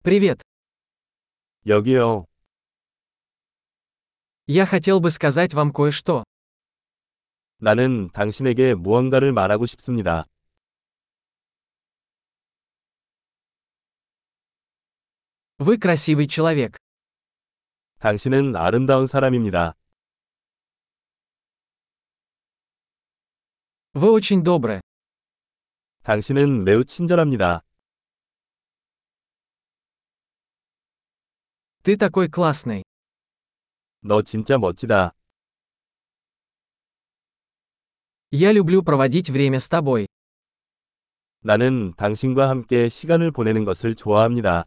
Привет. 여기요. Я хотел бы сказать вам кое-что. 나는 당신에게 무언가를 말하고 싶습니다. Вы красивый человек. 당신은 아름다운 사람입니다. Вы очень добры. 당신은 매우 친절합니다. Ты такой классный. 너 진짜 멋지다. Я люблю проводить время с тобой. 나는 당신과 함께 시간을 보내는 것을 좋아합니다.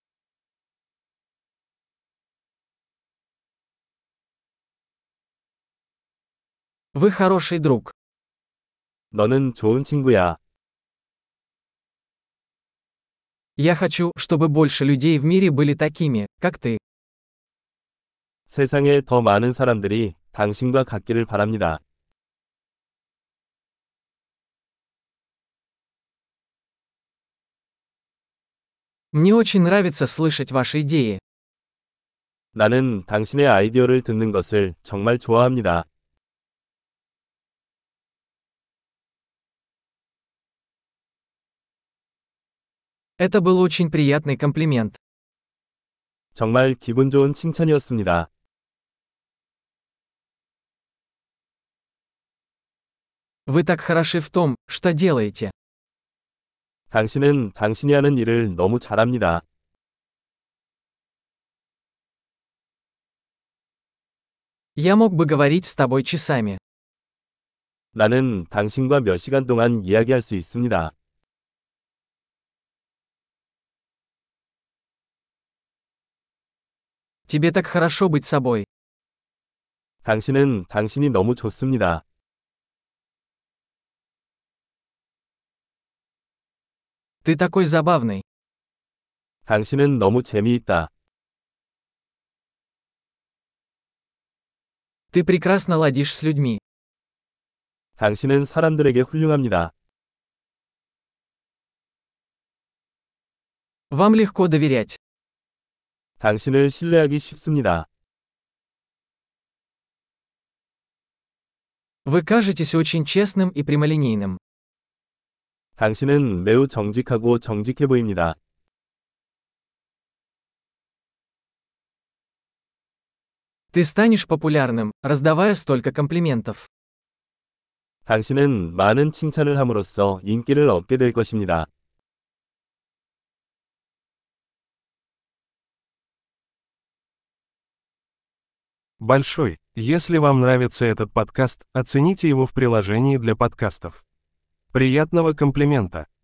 Вы хороший друг. 너는 좋은 친구야. Я хочу, чтобы больше людей в мире были такими, как ты. 세상에 더 많은 사람들이 당신과 같기를 바랍니다. Мне очень нравится слышать ваши идеи. 나는 당신의 아이디어를 듣는 것을 정말 좋아합니다. Это был очень приятный комплимент. 정말 기분 좋은 칭찬이었습니다. Вы так хороши в том, что делаете. 당신은 당신이 하는 일을 너무 잘합니다. Я мог бы говорить с тобой часами. 나는 당신과 몇 시간 동안 이야기할 수 있습니다. Тебе так хорошо быть собой. 당신은 당신이 너무 좋습니다. Ты такой забавный. 당신은 너무 재미있다. Ты прекрасно ладишь с людьми. 당신은 사람들에게 훌륭합니다. Вам легко доверять. 당신을 신뢰하기 쉽습니다. Вы кажетесь очень честным и прямолинейным. 당신은 매우 정직하고 정직해 보입니다. Ты станешь популярным, раздавая столько комплиментов. 당신은 많은 칭찬을 함으로써 인기를 얻게 될 것입니다. Большой. Если вам нравится этот подкаст, оцените его в приложении для подкастов. Приятного комплимента!